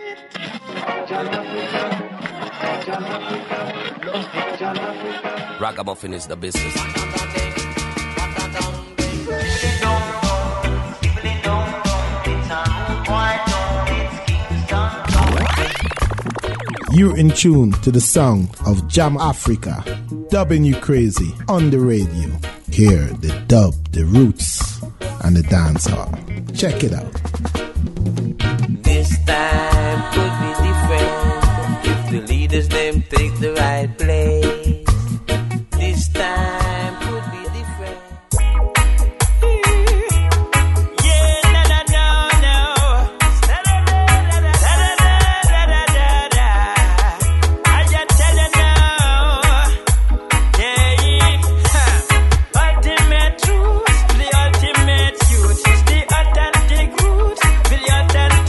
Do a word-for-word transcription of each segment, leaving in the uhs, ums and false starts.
Ragamuffin is the business. You're in tune to the song of Jam Africa, dubbing you crazy on the radio. Hear the dub, the roots, and the dance hall. Check it out. This time could be different if the leaders them take the right place. This time could be different. Yeah, no, no, no, no. Da, da, da, da, da, da, da, da, da. I just tell you now. Yeah, huh. Ultimate truth, the ultimate youth, the authentic roots, the authentic.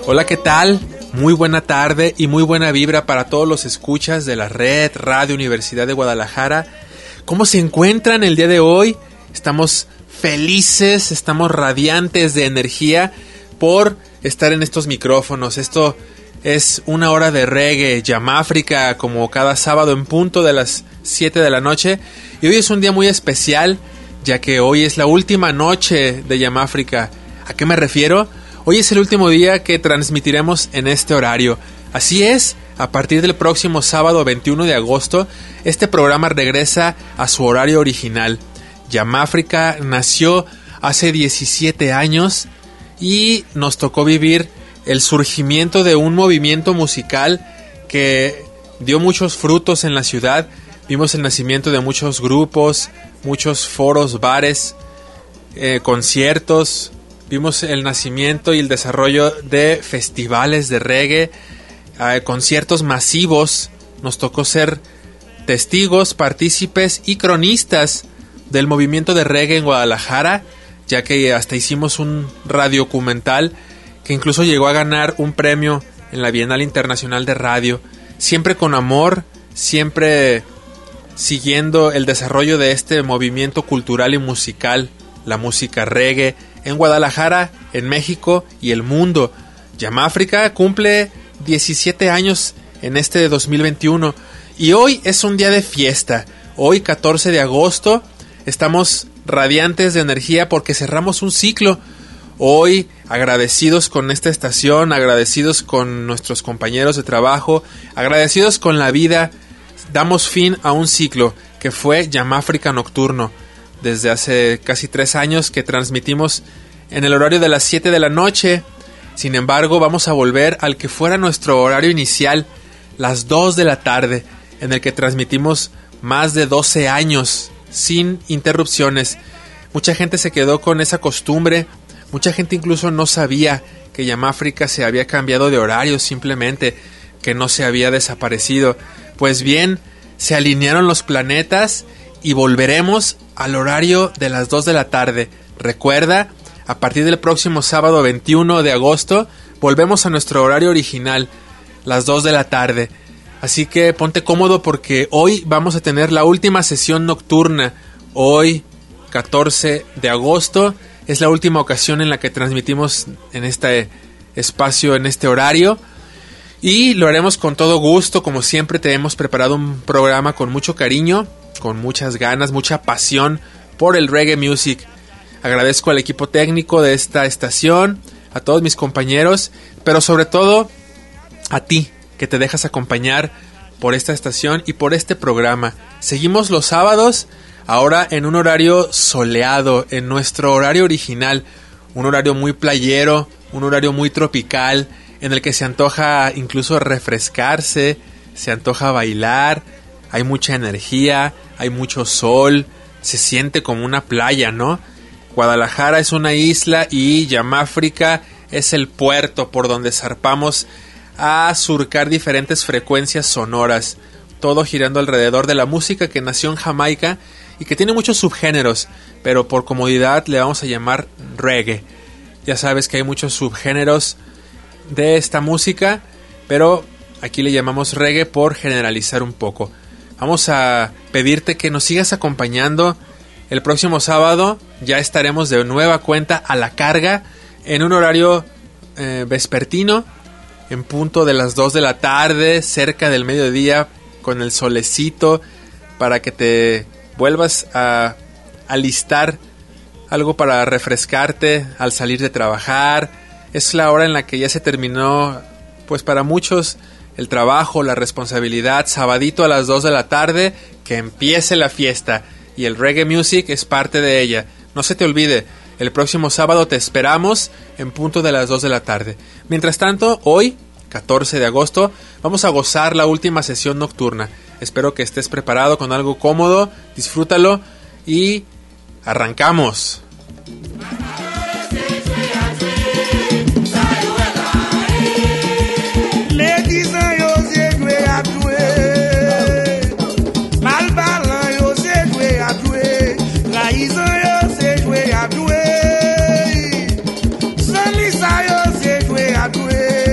Hola, ¿qué tal? Muy buena tarde y muy buena vibra para todos los escuchas de la red Radio Universidad de Guadalajara. ¿Cómo se encuentran el día de hoy? Estamos felices, estamos radiantes de energía por estar en estos micrófonos. Esto es una hora de reggae, Yamáfrica, como cada sábado en punto de las siete de la noche. Y hoy es un día muy especial, ya que hoy es la última noche de Yamáfrica. ¿A qué me refiero? Hoy es el último día que transmitiremos en este horario. Así es, a partir del próximo sábado veintiuno de agosto, este programa regresa a su horario original. Yamáfrica nació hace diecisiete años y nos tocó vivir el surgimiento de un movimiento musical que dio muchos frutos en la ciudad. Vimos el nacimiento de muchos grupos, muchos foros, bares, eh, conciertos. Vimos el nacimiento y el desarrollo de festivales de reggae, eh, conciertos masivos. Nos tocó ser testigos, partícipes y cronistas del movimiento de reggae en Guadalajara, ya que hasta hicimos un radiodocumental que incluso llegó a ganar un premio en la Bienal Internacional de Radio. Siempre con amor, siempre siguiendo el desarrollo de este movimiento cultural y musical, la música reggae, en Guadalajara, en México y el mundo. Yamáfrica cumple diecisiete años en este dos mil veintiuno y hoy es un día de fiesta. Hoy, catorce de agosto, estamos radiantes de energía porque cerramos un ciclo. Hoy, agradecidos con esta estación, agradecidos con nuestros compañeros de trabajo, agradecidos con la vida, damos fin a un ciclo que fue Yamáfrica Nocturno. Desde hace casi tres años que transmitimos en el horario de las siete de la noche. Sin embargo, vamos a volver al que fuera nuestro horario inicial, las dos de la tarde, en el que transmitimos más de doce años sin interrupciones. Mucha gente se quedó con esa costumbre, mucha gente incluso no sabía que Yamáfrica se había cambiado de horario, simplemente que no se había desaparecido. Pues bien, se alinearon los planetas y volveremos al horario de las dos de la tarde. Recuerda, a partir del próximo sábado veintiuno de agosto, volvemos a nuestro horario original, las dos de la tarde. Así que ponte cómodo porque hoy vamos a tener la última sesión nocturna. Hoy, catorce de agosto, es la última ocasión en la que transmitimos en este espacio, en este horario. Y lo haremos con todo gusto, como siempre te hemos preparado un programa con mucho cariño, con muchas ganas, mucha pasión por el reggae music. Agradezco al equipo técnico de esta estación, a todos mis compañeros, pero sobre todo a ti, que te dejas acompañar por esta estación y por este programa. Seguimos los sábados, ahora en un horario soleado, en nuestro horario original, un horario muy playero, un horario muy tropical, en el que se antoja incluso refrescarse, se antoja bailar, hay mucha energía, hay mucho sol, se siente como una playa, ¿no? Guadalajara es una isla y Yamáfrica es el puerto por donde zarpamos a surcar diferentes frecuencias sonoras, todo girando alrededor de la música que nació en Jamaica y que tiene muchos subgéneros, pero por comodidad le vamos a llamar reggae. Ya sabes que hay muchos subgéneros de esta música, pero aquí le llamamos reggae por generalizar un poco. Vamos a pedirte que nos sigas acompañando. El próximo sábado ya estaremos de nueva cuenta a la carga en un horario eh, vespertino, en punto de las dos de la tarde, cerca del mediodía, con el solecito, para que te vuelvas a alistar algo para refrescarte al salir de trabajar. Es la hora en la que ya se terminó, pues para muchos, el trabajo, la responsabilidad. Sabadito a las dos de la tarde, que empiece la fiesta. Y el reggae music es parte de ella. No se te olvide, el próximo sábado te esperamos en punto de las dos de la tarde. Mientras tanto, hoy, catorce de agosto, vamos a gozar la última sesión nocturna. Espero que estés preparado con algo cómodo, disfrútalo y arrancamos. Sanlisa yo se jwe a dwe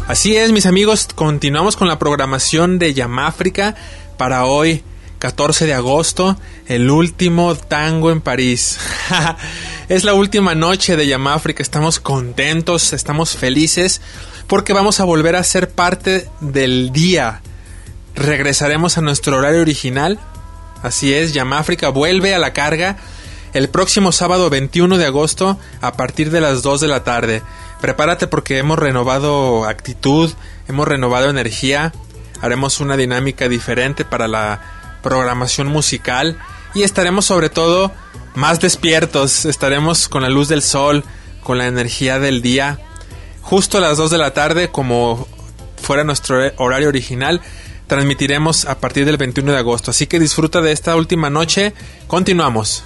Así es, mis amigos, continuamos con la programación de Yamáfrica para hoy, catorce de agosto, el último tango en París. Es la última noche de Yamáfrica, estamos contentos, estamos felices, porque vamos a volver a ser parte del día. Regresaremos a nuestro horario original. Así es, Yamáfrica vuelve a la carga el próximo sábado veintiuno de agosto a partir de las dos de la tarde. Prepárate porque hemos renovado actitud, hemos renovado energía, haremos una dinámica diferente para la programación musical y estaremos sobre todo más despiertos, estaremos con la luz del sol, con la energía del día. Justo a las dos de la tarde, como fuera nuestro horario original, transmitiremos a partir del veintiuno de agosto. Así que disfruta de esta última noche. Continuamos.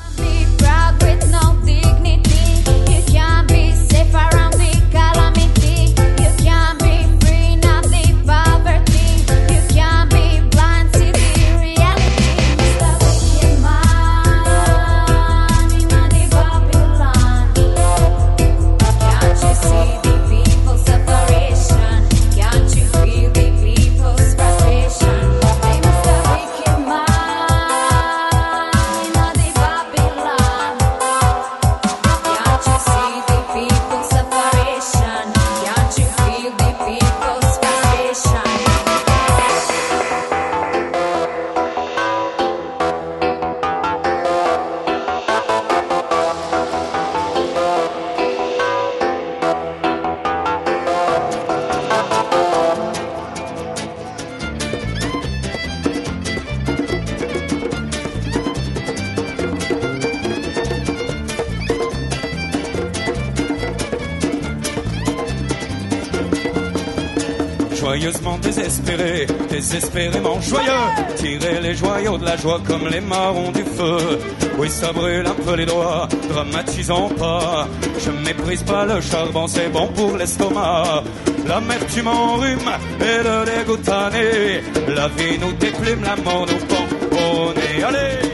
Joyeusement désespéré, désespérément joyeux, tirer les joyaux de la joie comme les marrons du feu. Oui, ça brûle un peu les doigts, dramatisons pas. Je méprise pas le charbon, c'est bon pour l'estomac. L'amertume enrhume et le dégoût tanné. La vie nous déplume, la mort nous pend au nez. Allez!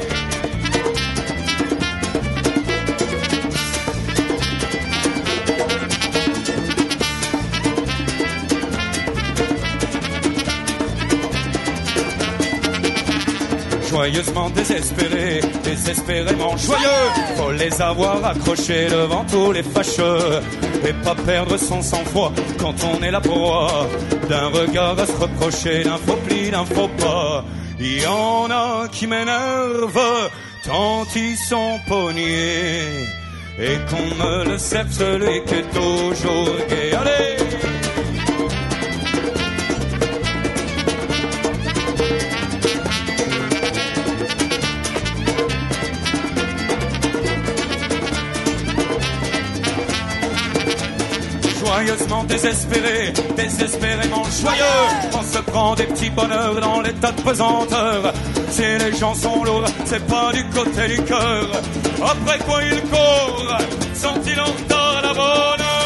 Joyeusement désespérés, désespérément joyeux. Faut les avoir accrochés devant tous les fâcheux. Et pas perdre son sang-froid quand on est la proie d'un regard à se reprocher, d'un faux pli, d'un faux pas. Y en a qui m'énervent tant ils sont pognés. Et qu'on me le serve celui qui est toujours gai. Allez! Joyeusement désespéré, désespérément joyeux. On se prend des petits bonheurs dans les tas de pesanteur. Si les gens sont lourds, c'est pas du côté du cœur. Après quoi ils courent, sont-ils en retard à la bonne heure?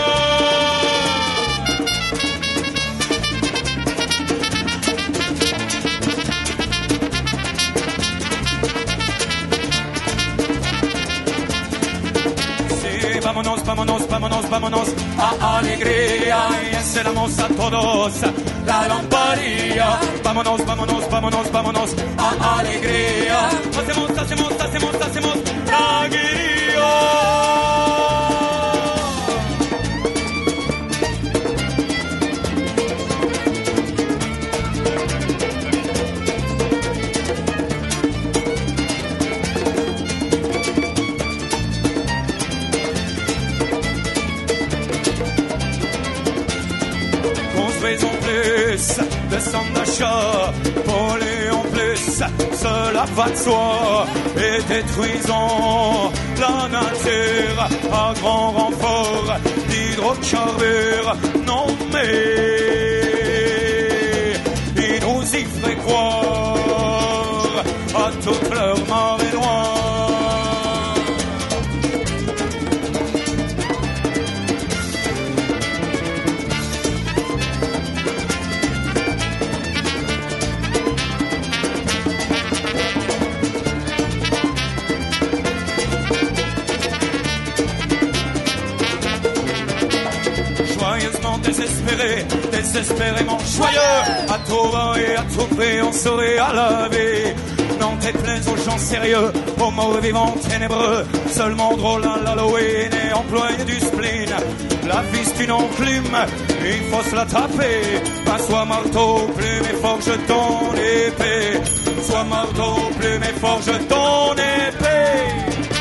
Vámonos, vámonos, vámonos, vámonos a alegría, y encenamos a todos la lamparilla. Vámonos, vámonos, vámonos, vámonos a alegría. Hacemos, hacemos, hacemos, hacemos la guía. De centres d'achat, voler en plus, cela va de soi. Et détruisons la nature à grand renfort d'hydrocarbures. Non mais ils nous y feraient croire à toute leur marée noire. Désespéré, désespérément joyeux. À tout vent et à tout prix, on sourit à la vie. Non, t'es plein aux gens sérieux, aux morts vivants ténébreux. Seulement drôle à l'Halloween et employé du spleen. La vie c'est une enclume, il faut se la taper. Pas soit marteau, plume et forge ton épée. Soit marteau, plume et forge ton épée.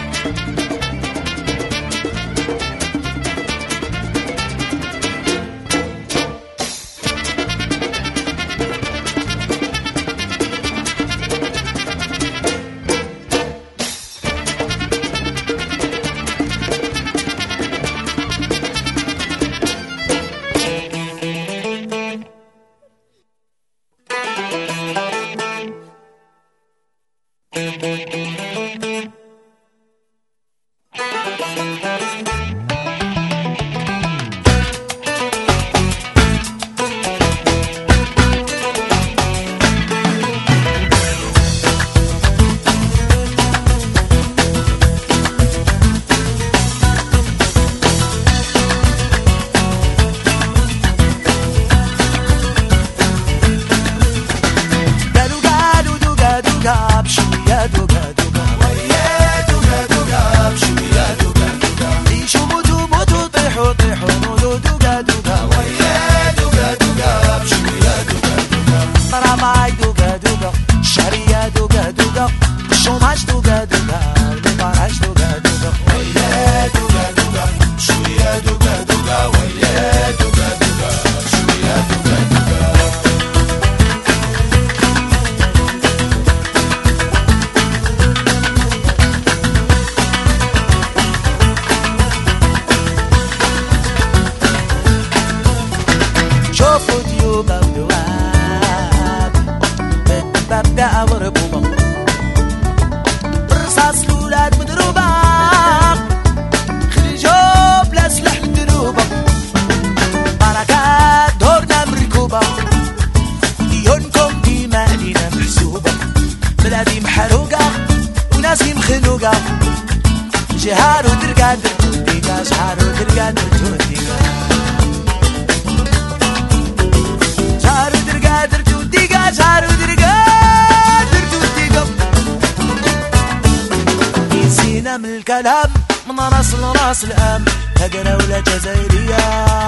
الكلام من راس لراس الام هقرا ولا جزائرية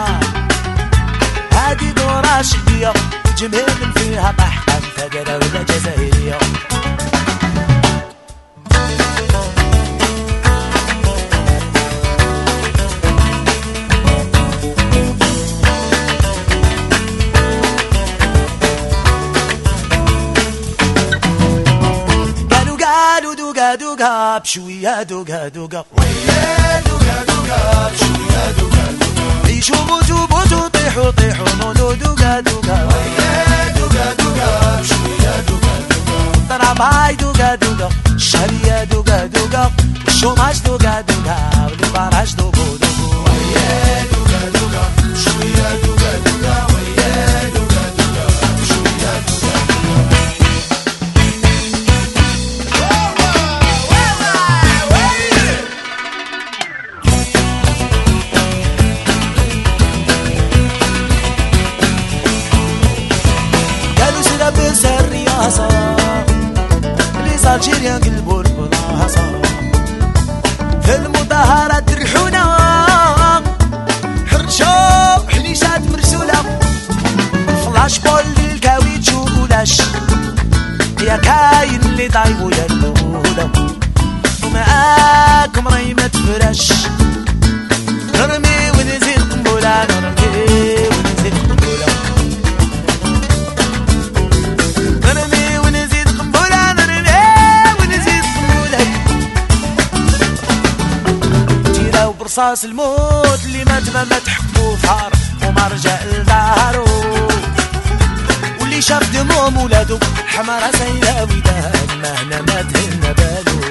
هادي دورة شدية جمهور من فيها طحطم هقرا ولا جزائرية دوقا بشوية دوقا دوقا ويا دوقا دوقا بشوية دوقا دوقا عيشوا موتوا موتوا طيحوا طيحوا نودوا دوقا دوقا ويا دوقا دوقا بشوية دوقا دوقا الضرباي دوقا دوقا الشهرية دوقا دوقا والشوماج دوقا دوقا والبراج دوقو دوقو ويا دوقا دوقا بشوية دوقا دوقا ويا دوقا دوقا بشوية دوقا الجيريا قلبوا البلاصة في المظاهرات ريحونا حرشوا حنيشات مرسولة فلاش بول للكاويتش ولاش يا كاين اللي ضايبوا للمولة ومعاكم راي ما تفرش نرمي ونزيد قنبلة نرمي ونزيد قنبلة نرمي ونزيد قنبلة نرمي برصاص الموت اللي مات ما مات حبو ثار وما رجع لدارو واللي شاف دموم ولادو حمارة سايلة وداد ما هنا مات هنا بالو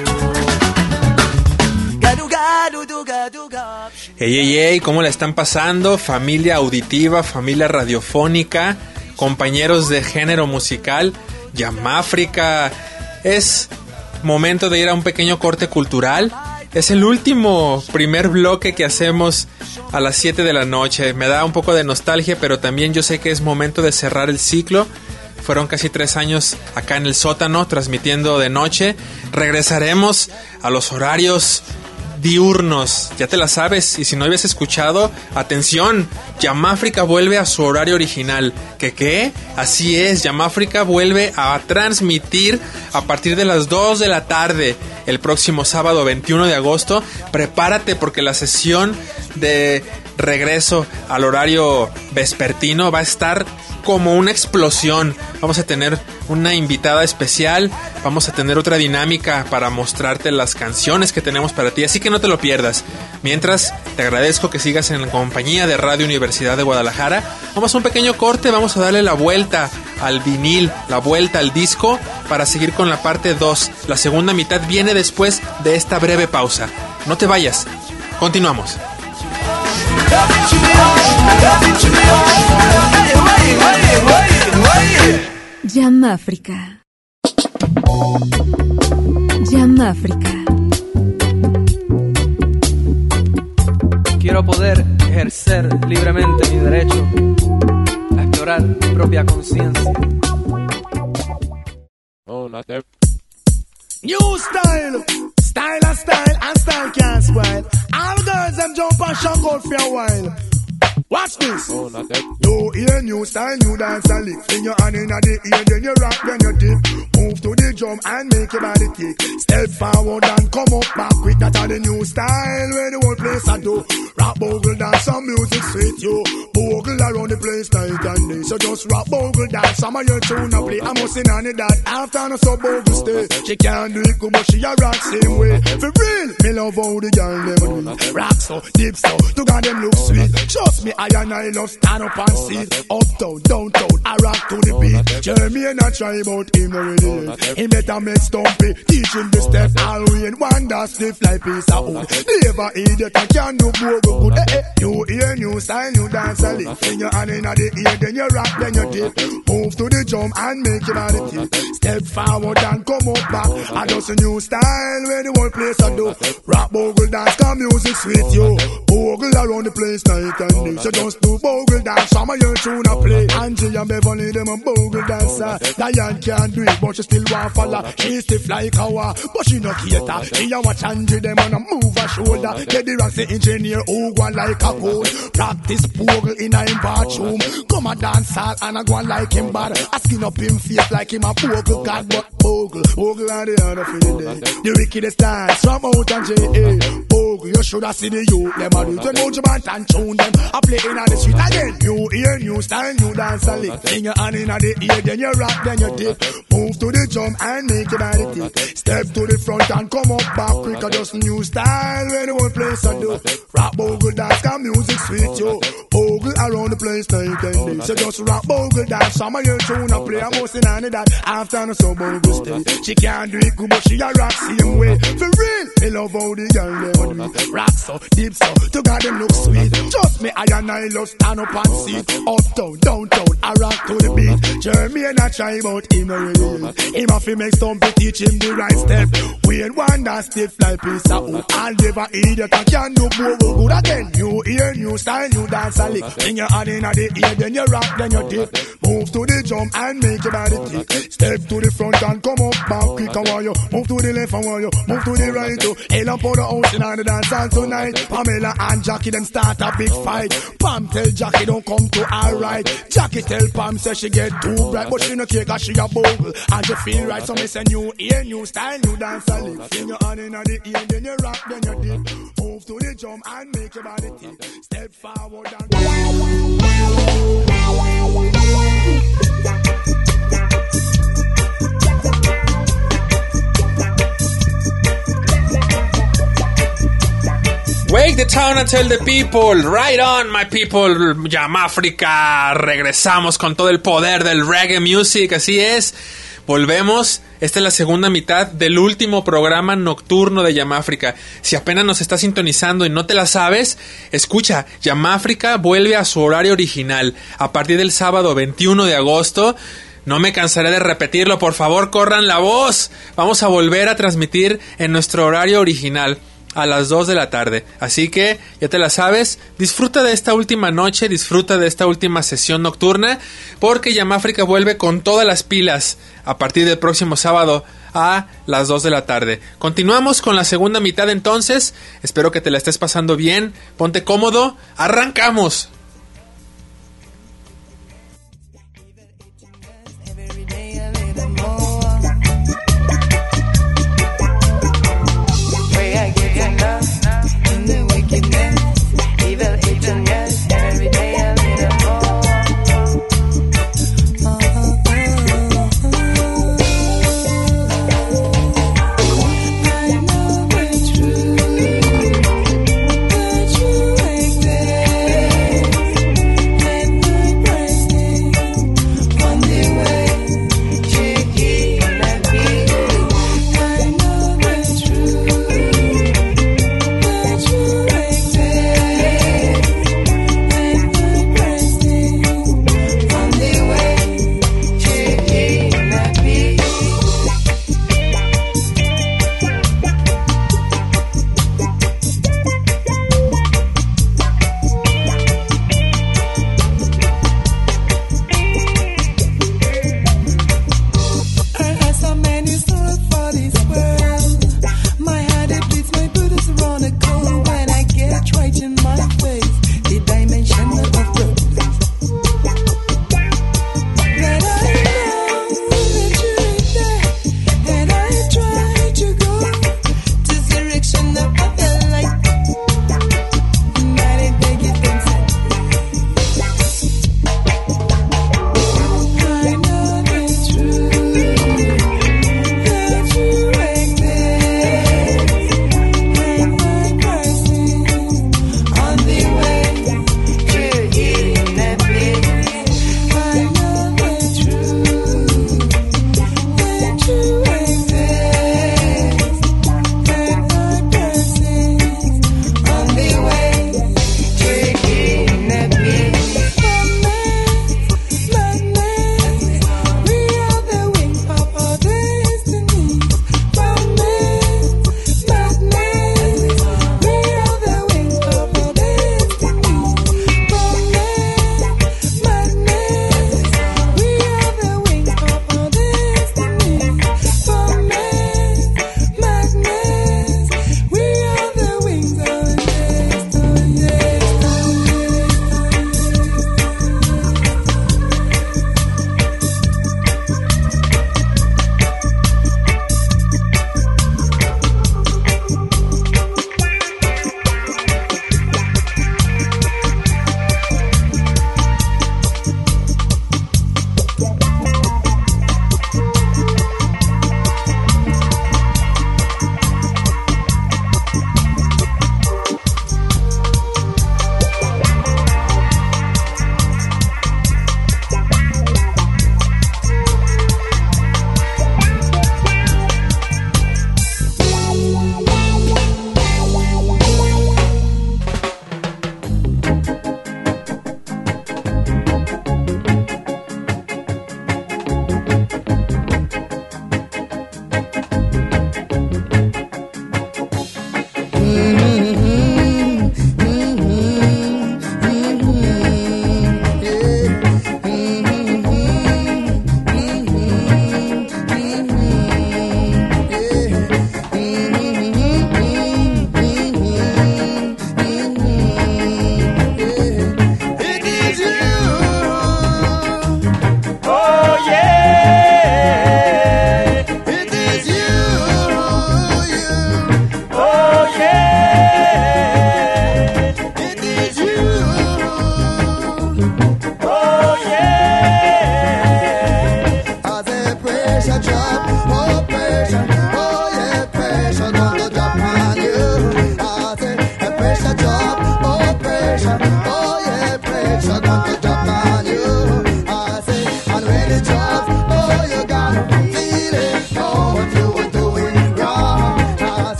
قالوا قالوا دوقا دوقا. Hey, hey, hey, ¿cómo la están pasando? Familia auditiva, familia radiofónica, compañeros de género musical, Jam África. Es momento de ir a un pequeño corte cultural es el último primer bloque que hacemos a las siete de la noche. Me da un poco de nostalgia, pero también yo sé que es momento de cerrar el ciclo. Fueron casi tres años acá en el sótano, transmitiendo de noche. Regresaremos a los horarios diurnos, ya te la sabes. Y si no habías escuchado, atención, Yamáfrica vuelve a su horario original. ¿Qué qué? Así es, Yamáfrica vuelve a transmitir a partir de las dos de la tarde el próximo sábado veintiuno de agosto. Prepárate porque la sesión de regreso al horario vespertino va a estar como una explosión. Vamos a tener una invitada especial, vamos a tener otra dinámica para mostrarte las canciones que tenemos para ti, así que no te lo pierdas. Mientras, te agradezco que sigas en la compañía de Radio Universidad de Guadalajara. Vamos a un pequeño corte, vamos a darle la vuelta al vinil, la vuelta al disco, para seguir con la parte dos. La segunda mitad viene después de esta breve pausa. No te vayas, continuamos. Yamáfrica. Yamáfrica. Quiero poder ejercer libremente mi derecho a explorar mi propia conciencia. New style, style and style and style can't spoil. All girls them jump and shock out for a while. Watch this. Oh, not that. You hear new style, new dance and lick. Fling your hand in the ear, then you rock, then you dip. Move to the drum and make your body kick. Step forward and come up back quick. That's the new style where the whole place I do. Rock, bogle, dance, some music sweet you. Bogle around the place night and day. So just rock, bogle, dance, some of your tune and play. I must sing on it that after no so bogle stay. She can't do it good, but she a rock same way. For real, me love how the girl them do. Rock so, dip so, to God them look sweet. Trust me, I and I love stand up and sit. Uptown, downtown, I rock to the beat. Jeremy and I try about him already. He better make stumpy, teach him the step. All we in one that stiff like piece of wood. Never idiot, I can do bogle good. Eh, eh. You hear new style, new dance a lick. Fling your hand in the ear, then you rock, then you dip. Move to the drum and make your body tip. Step forward and come up back. I just a new style where the whole place I do. Rock, bogle, dance, come music sweet you. Bogle around the place night and day. So just do bogle dance, some of your tune a play. Angie and Beverly, them a bogle dancer. Diane can't do it, but she still want follow. She stiff like a war, but she no cater. She a watch Angie, them on a move her shoulder. Get the rocks, the engineer, who go like a code. Practice bogle in a him bathroom. Come a dance hall and a go like him bad. A skin up him face like him a bogle god, but bogle, bogle and the other for the day. The wickedest dance from out and J A. Bogle, you should have seen the youth, them a do it. When Mojo and tune them, I play in the street again. New ear, new style, new dance and lick. Fling your hand in the ear, then you rock, then you dip. Move to the drum and make your body tick. Step to the front and come up back quick. Just new style where the whole place I do. Rock, bogle, dance, come music sweet yo. Bogle around the place night and day. So just rock, bogle, dance, some of your tune I play. I'm mostly on that after no so bogle stay. She can't do it good, but she a rock same way. For real, me love how the girl them do it. Rock so, deep so, to God them look sweet. Just me, I and I love stand up and sit. Uptown, downtown, I rock to the beat. Jeremy and I try about him already. Him have to make stumpy, teach him the right step. We ain't one that stiff like piece of wood. I'll never idiot, I can do bogle good again. New ear, new style, new dance a lick. Bring your hand in the ear, then you rock, then you dip. Move to the drum and make your body tick. Step to the front and come up back quick. I want you move to the left, I want you move to the right too. Hell up for the house in the dance hall tonight. Pamela and Jackie them start a big fight. Pam tell Jackie don't come to her right. Jackie tell Pam say she get too bright, but she no care cause she a bogle and she feel right. So me say new ear, new style, new dance a lick. Fling your hand in the ear, then you rock, then you dip. Move to the drum and make your body tick. Step forward and Wake the town and tell the people. Right on, my people. Yamáfrica. Regresamos con todo el poder del reggae music. Así es. Volvemos. Esta es la segunda mitad del último programa nocturno de Yamáfrica. Si apenas nos estás sintonizando y no te la sabes, escucha. Yamáfrica vuelve a su horario original a partir del sábado veintiuno de agosto. No me cansaré de repetirlo. Por favor, corran la voz. Vamos a volver a transmitir en nuestro horario original. a las dos de la tarde. Así que ya te la sabes, disfruta de esta última noche, disfruta de esta última sesión nocturna, porque Jam África vuelve con todas las pilas a partir del próximo sábado a las dos de la tarde. Continuamos con la segunda mitad entonces. Espero que te la estés pasando bien, ponte cómodo, arrancamos. True.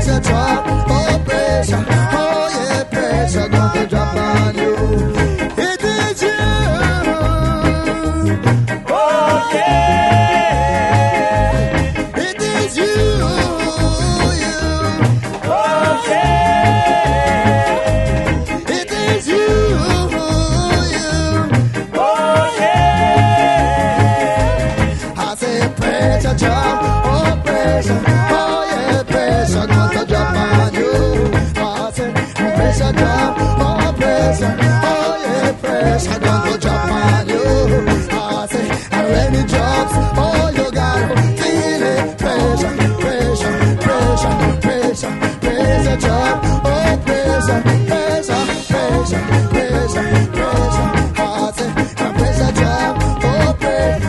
pressure drop, oh pressure, oh yeah, pressure gonna drop on you. It is you, oh yeah, it is you, you, oh yeah, it is you, you, oh yeah. I say pressure drop, oh pressure, oh yeah, pressure gonna drop on you. I say pressure drop, oh pressure, oh yeah, pressure gonna drop on you. I say and when it drops, oh you gotta feel it. Pressure, pressure, pressure, pressure, pressure drop, oh pressure, pressure, pressure, pressure, pressure. I say and pressure drop, oh pressure.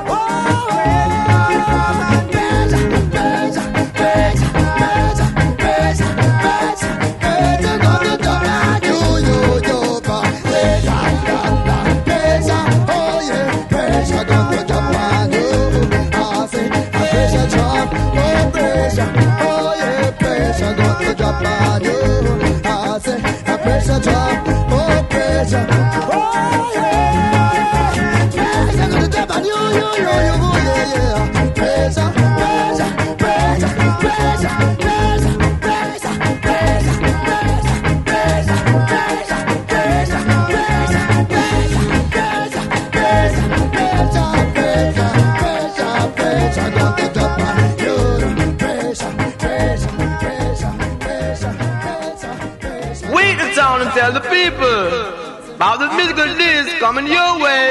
Pressure drop, oh pressure, oh yeah, pressure gonna drop on you, you, you, you, yeah, yeah. Pressure, pressure, pressure, pressure, pressure, pressure, pressure, pressure, pressure, pressure, pressure, pressure, pressure, pressure, pressure, pressure, pressure, pressure gonna drop on you. Pressure, pressure, pressure, pressure, pressure, pressure. Wait the town and tell the people about the musical disc coming your way.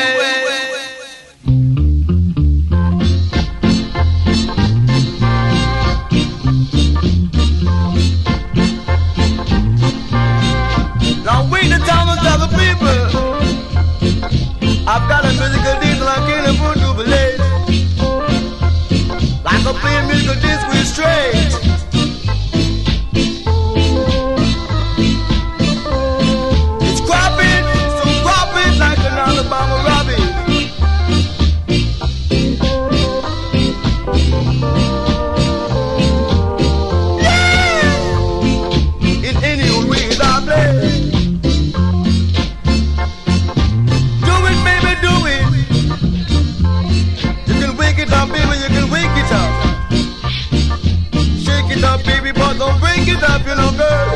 Now wait the town and tell the people I've got a musical disc like in a food to believe. Like a playing musical disc with straight. Alabama Robbie. Yeah! In any way I play. Do it, baby, do it. You can wake it up, baby, you can wake it up. Shake it up, baby, but don't break it up, you know, girl.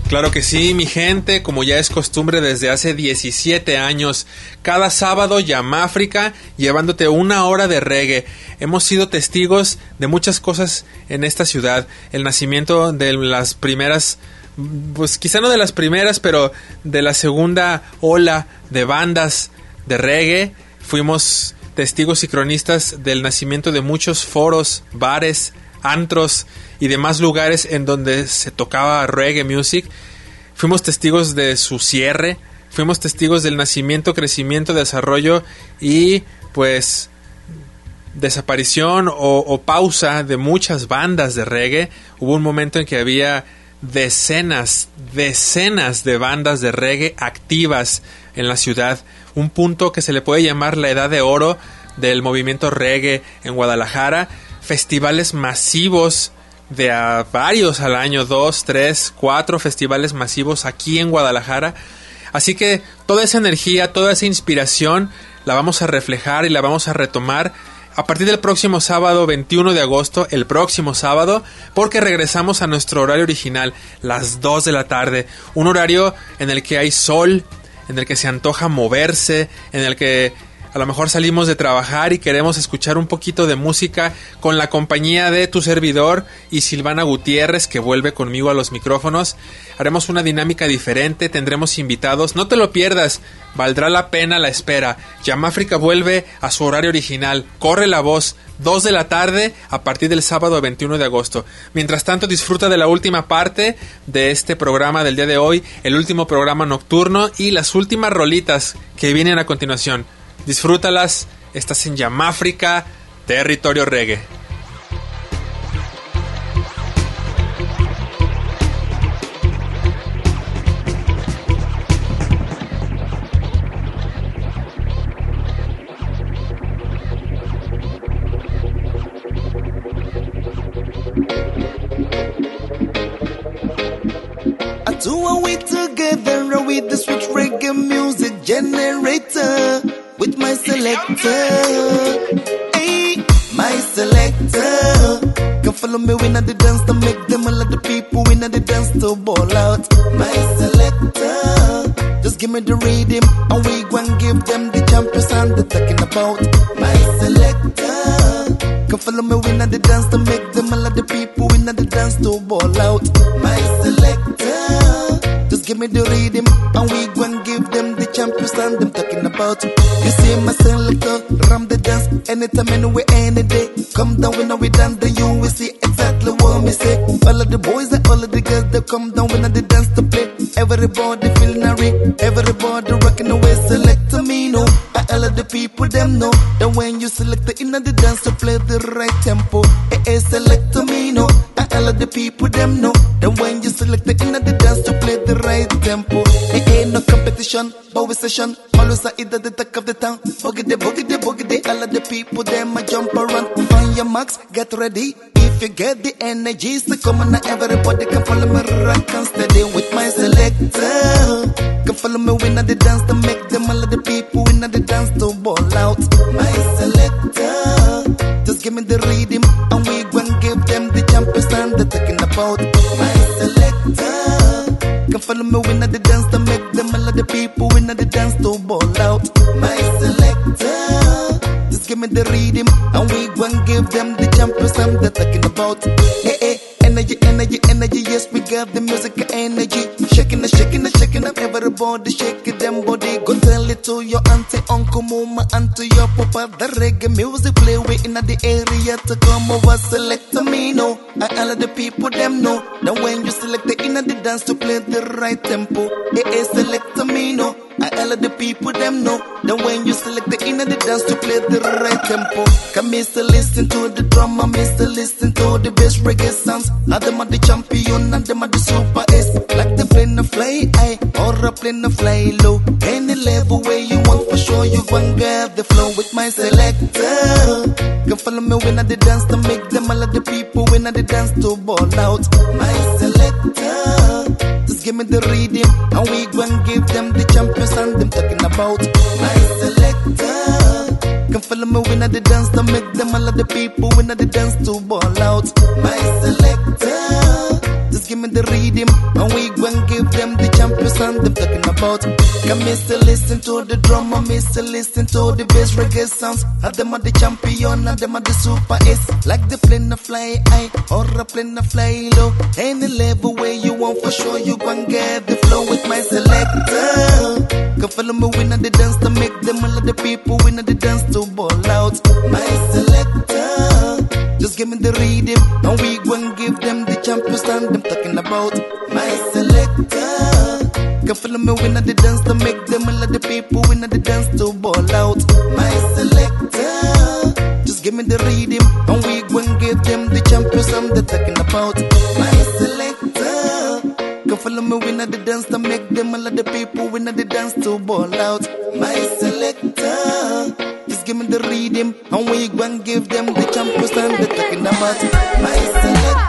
Claro que sí, mi gente, como ya es costumbre desde hace diecisiete años, cada sábado Yamáfrica llevándote una hora de reggae. Hemos sido testigos de muchas cosas en esta ciudad, el nacimiento de las primeras, pues quizá no de las primeras, pero de la segunda ola de bandas de reggae. Fuimos testigos y cronistas del nacimiento de muchos foros, bares, antros y demás lugares en donde se tocaba reggae music. Fuimos testigos de su cierre, fuimos testigos del nacimiento, crecimiento, desarrollo y pues desaparición o, o pausa de muchas bandas de reggae. Hubo un momento en que había decenas, decenas de bandas de reggae activas en la ciudad, un punto que se le puede llamar la edad de oro del movimiento reggae en Guadalajara. Festivales masivos de a varios al año, dos, tres, cuatro festivales masivos aquí en Guadalajara. Así que toda esa energía, toda esa inspiración la vamos a reflejar y la vamos a retomar a partir del próximo sábado veintiuno de agosto, el próximo sábado, porque regresamos a nuestro horario original, las dos de la tarde, un horario en el que hay sol, en el que se antoja moverse, en el que a lo mejor salimos de trabajar y queremos escuchar un poquito de música con la compañía de tu servidor y Silvana Gutiérrez, que vuelve conmigo a los micrófonos. Haremos una dinámica diferente, tendremos invitados, no te lo pierdas, valdrá la pena la espera. Yamáfrica vuelve a su horario original, corre la voz, dos de la tarde a partir del sábado veintiuno de agosto. Mientras tanto, disfruta de la última parte de este programa del día de hoy, el último programa nocturno y las últimas rolitas que vienen a continuación. Disfrútalas, estás en Yamáfrica, territorio reggae. Two are we together with the switch reggae music generator. With my selector, hey, my selector. Come follow me when I the dance to make them all of the people when I the dance to ball out. My selector, just give me the rhythm and we go and give them the champion sound they're talking about. My selector, come follow me when I the dance to make them all of the people when I the dance to ball out. My selector, just give me the rhythm and we go and give them the champion sound them talking about. You see my selector, ram the dance anytime, anywhere, any day. Come down when we dance, then you will see exactly what me say. All of the boys and all of the girls, they come down when they dance to play. Everybody feeling hurry, everybody rocking away. Select me, no. All of the people them know that when you select the inner the dance to play the right tempo. Eh eh, select me, no. All of the people them know that when you select the inner the dance to play the right tempo. Eh eh, no competition, but session. Always I either the talk of the town. Boogie the boogie the boogie the. All of the people them a jump around. Find your marks, get ready. If you get the energy, so come on now, everybody can follow me rock and steady with my selector. Come follow me when I the dance to make them all of the people when I the dance to ball out. My selector, just give me the rhythm and we go and give them the champion sound they're talking about. My selector, come follow me when I the dance to make them all of the people when I the dance to ball out. My selector, just give me the rhythm and we go and give them the champion sound they're talking about. Hey, hey, energy, energy, energy, yes, we got the music energy. Shaking and shaking and shaking up, everybody shaking them body. Go tell it to your auntie, uncle, mama, and to your papa. The reggae music play way in the area to come over, select me, no. And all of the people them know that when you select the inner the dance to play the right tempo. Eh, eh, select me, no. And all of the people them know that when you select the inner the dance to play the right tempo. Come Mister listen to the drama, Mister listen to the best reggae sounds. Now them are the champion and them are the super ace. Like the plane to fly high or a plane to fly low. Any level where you want for sure you gon' get the flow with my selector. Come follow me when I the dance to make them all of the people when I the dance to ball out. My selector, just give me the rhythm and we gon' give them the champion sound them talking about. My selector, Come follow me when I the dance to make them all of the people when I the dance to ball out. My selector, just give me the rhythm and we gon' give them the champion sound them talking about. Come mister listen to the drum, and mister listen to the bass reggae sounds. And them are the champion, and them are the super ace. Like the plane to fly high or a plane to fly low. Any level where you want for sure you gon' get the flow with my selector. Come follow me when I the dance to make them all of the people when I the dance to ball out. My selector, just give me the rhythm and we gon' give them the champion sound them talking about. My selector, come follow me when I the dance to make them all of the people when I the dance to ball out. My selector, just give me the rhythm and we gon' give them the champion sound they're talking about. My selector, come follow me when I the dance to make them all of the people when I the dance to ball out. My selector, just give me the rhythm and we gon' give them the champion sound they're talking about. My selector.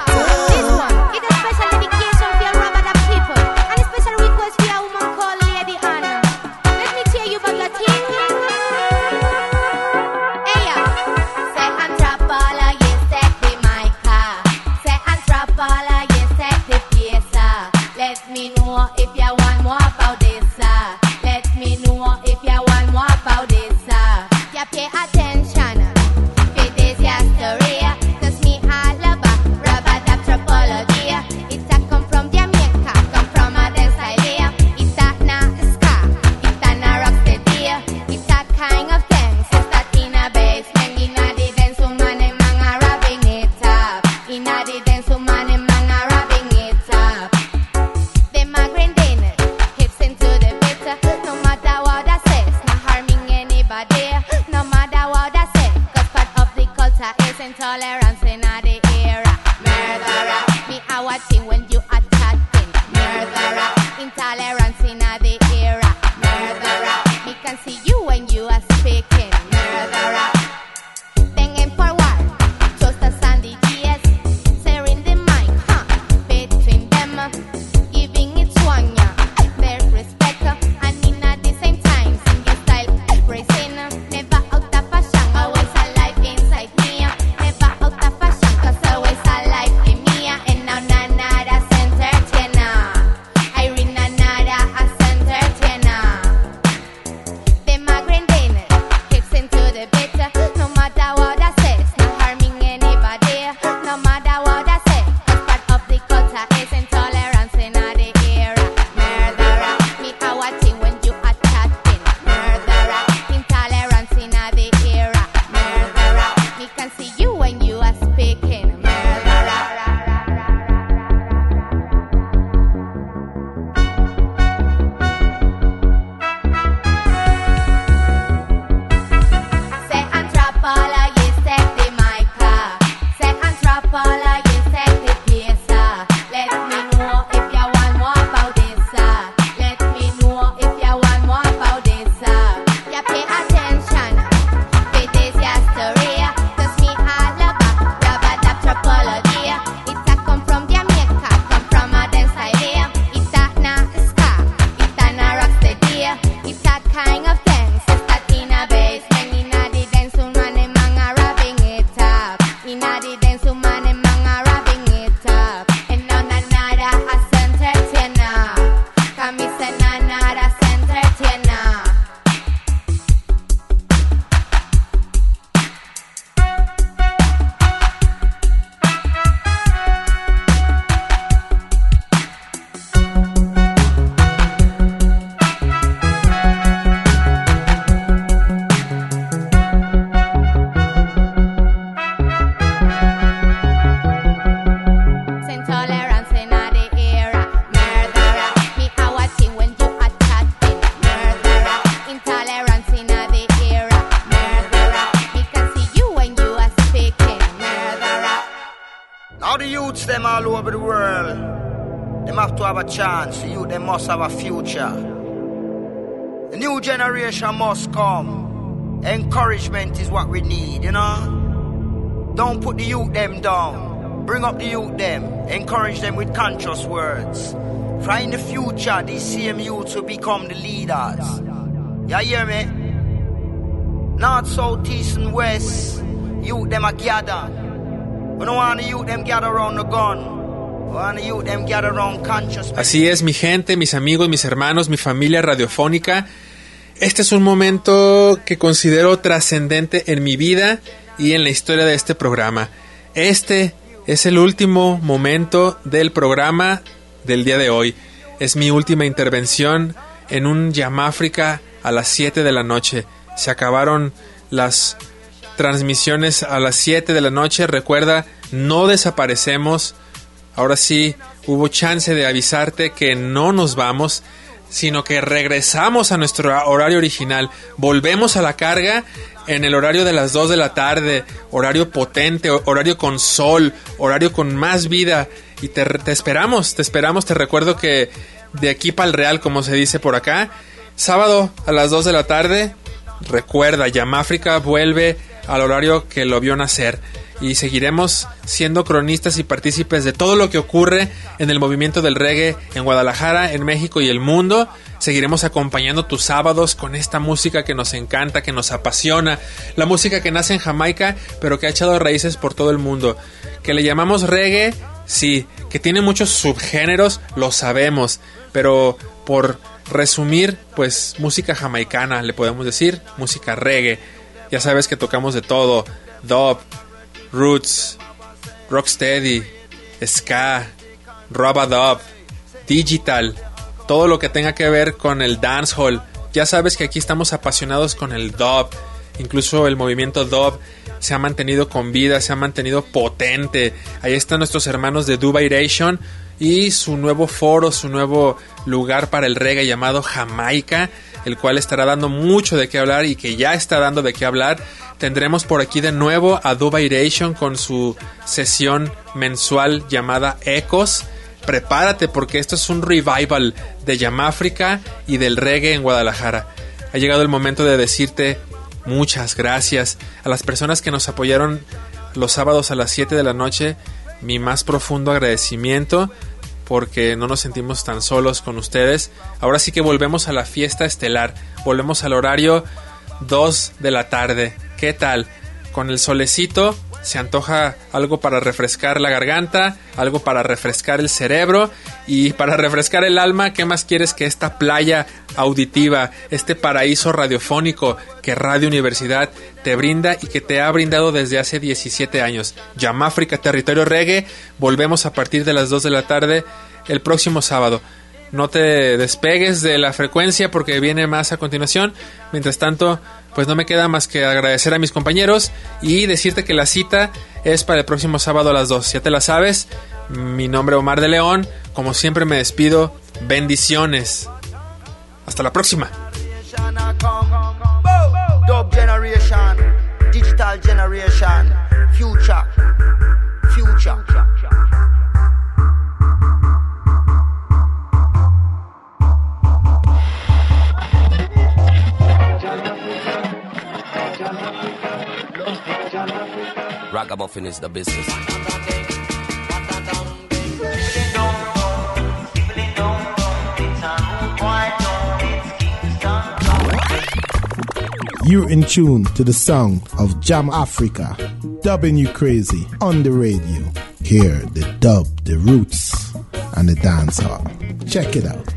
Chance, you they must have a future. The new generation must come. Encouragement is what we need, you know. Don't put the youth them down. Bring up the youth them. Encourage them with conscious words. For in the future, these same youths will become the leaders. You hear me? North, south, east and west, youth them a gather. We don't want the youth them gather around the gun. Así es, mi gente, mis amigos, mis hermanos, mi familia radiofónica. Este es un momento que considero trascendente en mi vida y en la historia de este programa. Este es el último momento del programa del día de hoy. Es mi última intervención en un Yamáfrica a las siete de la noche. Se acabaron las transmisiones a las siete de la noche. Recuerda, no desaparecemos. Ahora sí, hubo chance de avisarte que no nos vamos, sino que regresamos a nuestro horario original. Volvemos a la carga en el horario de las dos de la tarde, horario potente, horario con sol, horario con más vida. Y te, te esperamos, te esperamos. Te recuerdo que de aquí para el Real, como se dice por acá, sábado a las dos de la tarde, recuerda, Yamáfrica vuelve al horario que lo vio nacer. Y seguiremos siendo cronistas y partícipes de todo lo que ocurre en el movimiento del reggae en Guadalajara, en México y el mundo. Seguiremos acompañando tus sábados con esta música que nos encanta, que nos apasiona. La música que nace en Jamaica, pero que ha echado raíces por todo el mundo. Que le llamamos reggae, sí. Que tiene muchos subgéneros, lo sabemos. Pero por resumir, pues música jamaicana, le podemos decir, música reggae. Ya sabes que tocamos de todo, dub, roots, rocksteady, ska, rubadub, digital, todo lo que tenga que ver con el dancehall. Ya sabes que aquí estamos apasionados con el dub. Incluso el movimiento dub se ha mantenido con vida, se ha mantenido potente. Ahí están nuestros hermanos de Dubairation y su nuevo foro, su nuevo lugar para el reggae llamado Jamaica, el cual estará dando mucho de qué hablar y que ya está dando de qué hablar. Tendremos por aquí de nuevo a Dubairation con su sesión mensual llamada Ecos. Prepárate porque esto es un revival de Yamáfrica y del reggae en Guadalajara. Ha llegado el momento de decirte muchas gracias a las personas que nos apoyaron los sábados a las siete de la noche. Mi más profundo agradecimiento porque no nos sentimos tan solos con ustedes. Ahora sí que volvemos a la fiesta estelar. Volvemos al horario dos de la tarde. ¿Qué tal? Con el solecito se antoja algo para refrescar la garganta, algo para refrescar el cerebro y para refrescar el alma. ¿Qué más quieres que esta playa auditiva, este paraíso radiofónico que Radio Universidad te brinda y que te ha brindado desde hace diecisiete años? Yamáfrica, territorio reggae. Volvemos a partir de las dos de la tarde el próximo sábado. No te despegues de la frecuencia porque viene más a continuación. Mientras tanto, pues no me queda más que agradecer a mis compañeros y decirte que la cita es para el próximo sábado a las dos. Ya te la sabes. Mi nombre es Omar de León. Como siempre me despido. Bendiciones. Hasta la próxima. Dub generation, digital generation, future, future. Ragamuffin is the business. You're in tune to the sound of Jam Africa, dubbing you crazy on the radio. Hear the dub, the roots, and the dancehall. Check it out.